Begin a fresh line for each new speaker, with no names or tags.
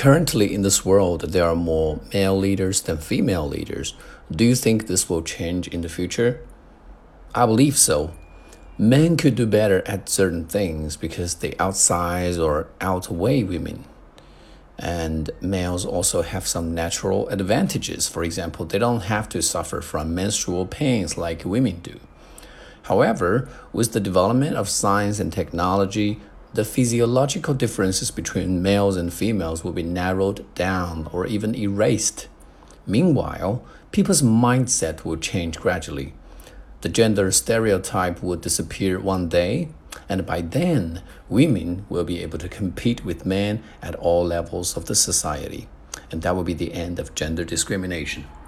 Currently, in this world, there are more male leaders than female leaders. Do you think this will change in the future? I believe so. Men could do better at certain things because they outsize or outweigh women. And males also have some natural advantages. For example, they don't have to suffer from menstrual pains like women do. However, with the development of science and technology, the physiological differences between males and females will be narrowed down or even erased. Meanwhile, people's mindset will change gradually. The gender stereotype will disappear one day, and by then, women will be able to compete with men at all levels of the society. And that will be the end of gender discrimination.